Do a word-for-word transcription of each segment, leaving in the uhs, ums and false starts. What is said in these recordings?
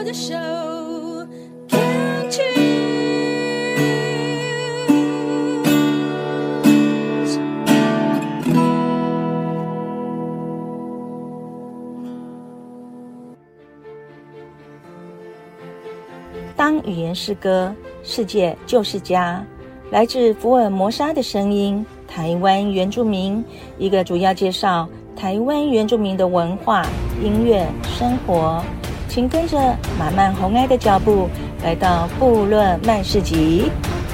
的手 Can't choose。 当語言是歌，世界就是家。來自福爾摩沙的聲音，台灣原住民，一個主要介紹台灣原住民的文化、音樂、生活。請跟着馬漫紅愛的腳步，來到部落漫市集。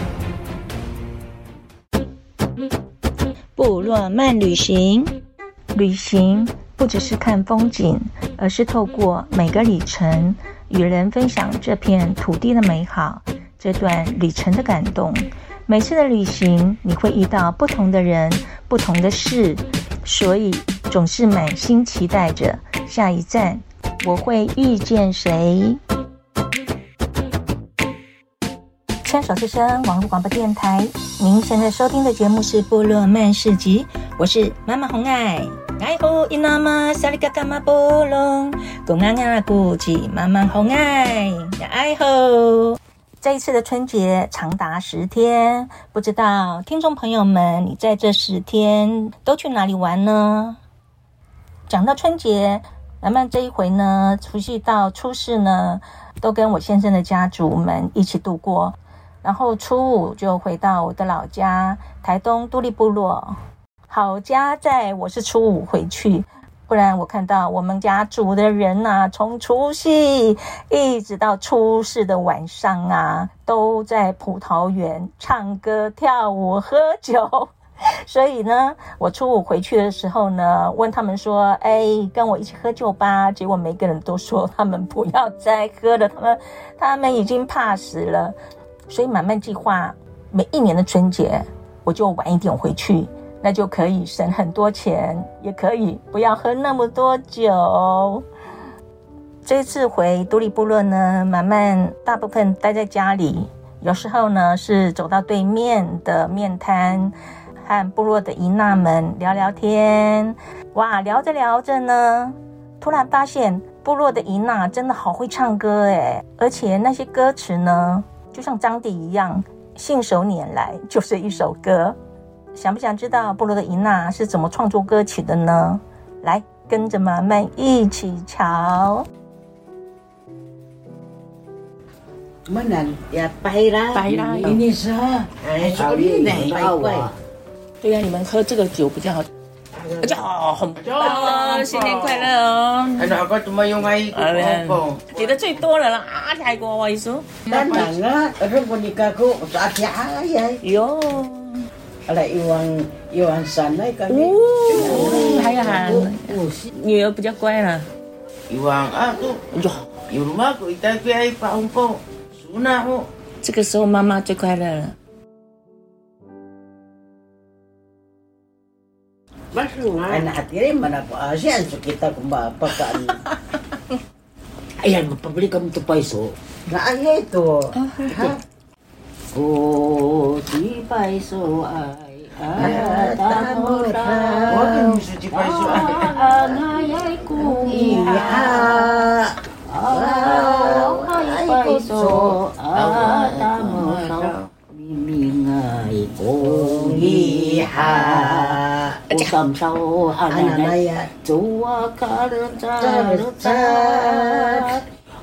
部落漫旅行，旅行不只是看風景，而是透過每個里程，與人分享這片土地的美好，這段旅程的感動。每次的旅行，你會遇到不同的人，不同的事，所以總是滿心期待着下一站我會遇見誰。牽手之聲網絡廣播電台，您現在收聽的節目是部落漫市集，我是媽媽紅愛。愛護伊那瑪薩里嘎嘎瑪波隆，公安阿古吉媽媽紅愛呀愛護。這一次的春節長達十天，不知道聽眾朋友們，你在這十天都去哪裡玩呢？講到春節，馬漫這一回呢，除夕到初四呢，都跟我先生的家族們一起度過，然後初五就回到我的老家台東都歷部落。好家在我是初五回去，不然我看到我們家族的人啊，從除夕一直到初四的晚上啊，都在葡萄園唱歌跳舞喝酒。所以呢，我初五回去的時候呢，問他們說，哎，跟我一起喝酒吧。結果每個人都說他們不要再喝了，他們他們已經怕死了。所以馬漫計劃每一年的春節我就晚一點回去，那就可以省很多錢，也可以不要喝那麼多酒。這次回都歷部落呢，馬漫大部分待在家裡，有時候呢是走到對面的麵攤，和部落的姨娜們聊聊天。哇，聊着聊着呢，突然發現部落的姨娜真的好會唱歌誒，而且那些歌詞呢，就像張帝一樣，信手拈來就是一首歌。想不想知道部落的姨娜是怎麼創作歌曲的呢？來，跟着馬漫一起瞧。 Mana ya paira paira ini sah 哎 ini nih怪。 对呀、啊，你们喝这个酒比較好，比較好，很棒！新年快樂哦！ Ano ako tumayong ay ko. 你的最多了啦，啊，太過我意思。 Dan nga, ano ko ni kako sa ati ay. 喲。 Ala iwang iwang sanay kami. 哦，還有還女兒比較乖啦。 Iwang ako. 喲， Yung rumah ko itagpi ay paong ko. Suna ko. 這個時候媽媽最快樂了。 Masuk nga. Anak hatirin mana po asyan so kita kung mapakaan. Ayan, magpabili kami ito paiso. Naaya ito. Ha? Oh, si paiso ay atamura. Huwag yung si paiso ay angayay kong iha. Ay paiso atamura. Mimingay kong iha. Usam sa hananay, tuwa ka rin sa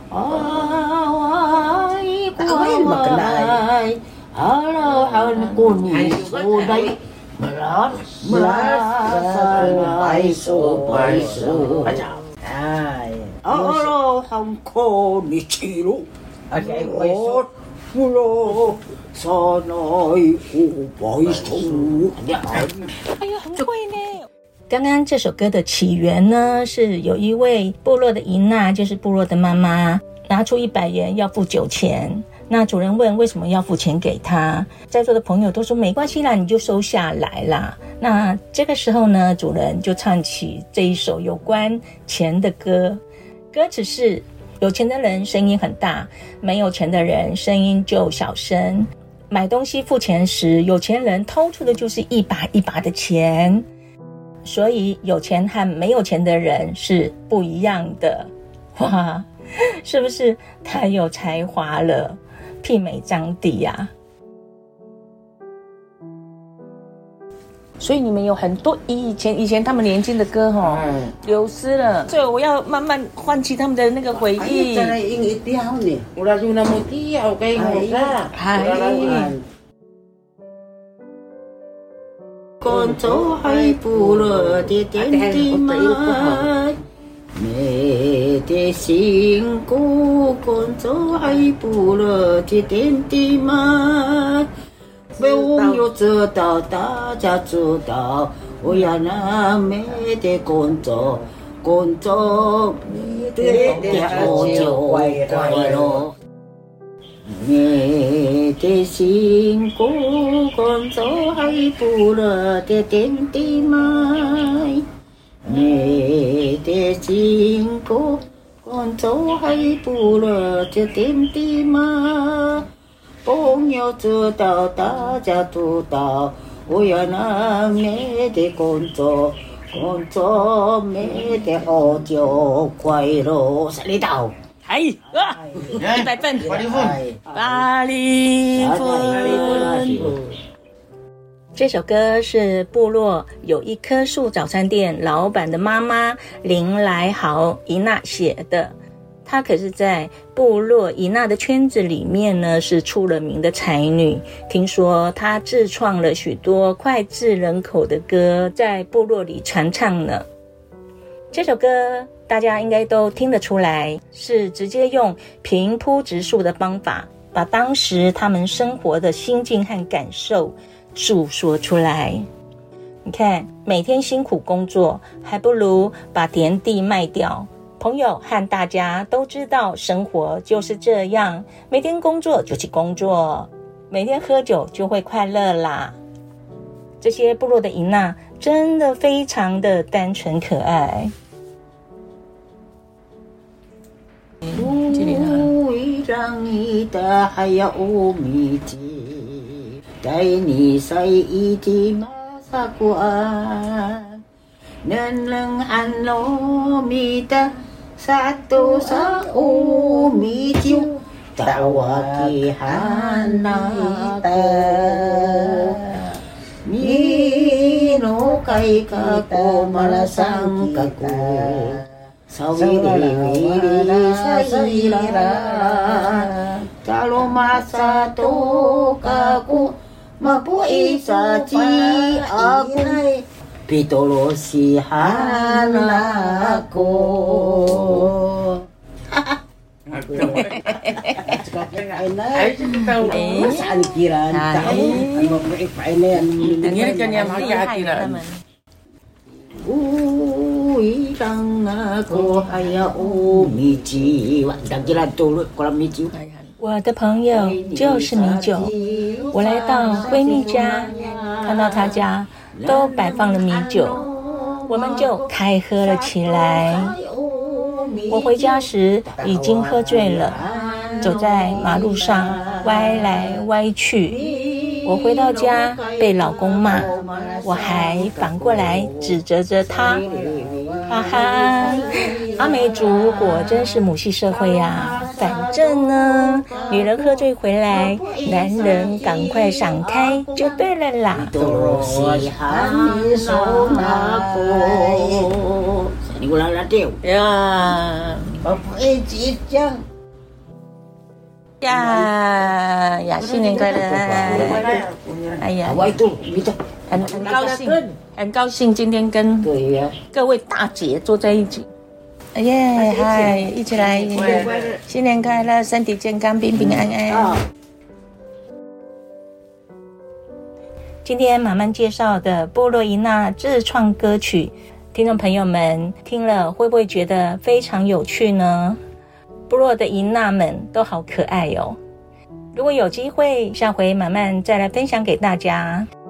away kuway, halahan ko ni Suday, malas, malas, paiso, paiso. Ay, halahan ko ni Chiro, ay paiso, mula sana'y paiso. 哎呀，很会呢！剛剛這首歌的起源呢，是有一位部落的姨娜，就是部落的媽媽，拿出一百元要付酒錢。那主人問為什麼要付錢給他，在座的朋友都說沒關係啦，你就收下來啦。那這個時候呢，主人就唱起這一首有關錢的歌，歌詞是：有錢的人聲音很大，沒有錢的人聲音就小聲。買東西付錢時，有錢人掏出的就是一把一把的錢，所以有錢和沒有錢的人是不一樣的。哇， 是不是太有才華了，媲美張帝呀？所以你們有很多以前以前他們年輕的歌哈、嗯，流失了，所以我要慢慢喚起他們的那個回憶。 哎，英一條呢，我來就那麼條給我啦，係。乾燥係部落的點滴麥，美的辛苦，乾燥係部落的點滴麥。被我們知道，大家知道，我要那美的工作，工作美的好就快樂，美的辛苦，工作係部落的點滴麥，美的辛苦，工作係部落的點滴麥。朋友知道，大家知道，我要那美的工作，工作美的好就快樂。三里島， 係啊，一百分，八零分，八零分。這首歌是部落有一棵樹早餐店老闆的媽媽林來豪伊娜寫的。她可是在部落伊娜的圈子裡面呢，是出了名的才女。聽說她自創了許多膾炙人口的歌，在部落裡傳唱呢。這首歌大家應該都聽得出來，是直接用平鋪直述的方法，把當時他們生活的心境和感受訴說出來。你看，每天辛苦工作，還不如把田地賣掉。朋友和大家都知道，生活就是這樣，每天工作就去工作，每天喝酒就會快樂啦。這些部落的伊娜真的非常的單純可愛。 不一樣一的還要無米吉，帶你晒一地馬薩關，能能安糯米的。Satu sa umitiu tawakihan nata Nino kay kako malasang kako Sawiri-wiri sa ira Kalau masa to kako Mapui sa ci ako Pitolosihan ako. Saan kiran? Ano po ipainayan? Nangyari ka niya makakatiran. Uy lang ako haya umichi. Dagilan tulog ko lang michi. 我的朋友就是米酒。我來到閨蜜家，看到她家都擺放了米酒，我們就開喝了起來。我回家時已經喝醉了，走在馬路上歪來歪去。我回到家被老公罵，我還反過來指責着他。哈哈，阿美族果真是母系社會呀！反正呢，女人喝醉回來，男人趕快閃開就對了啦。呀，呀呀！新年快樂！哎呀，很很高興，很高興今天跟各位大姐坐在一起。哎耶，嗨，一起來！新年快樂，身體健康，平平安安。今天馬漫介紹的部落伊娜自創歌曲，聽眾朋友們聽了會不會覺得非常有趣呢？部落的伊娜們都好可愛哦。如果有機會，下回馬漫再來分享給大家。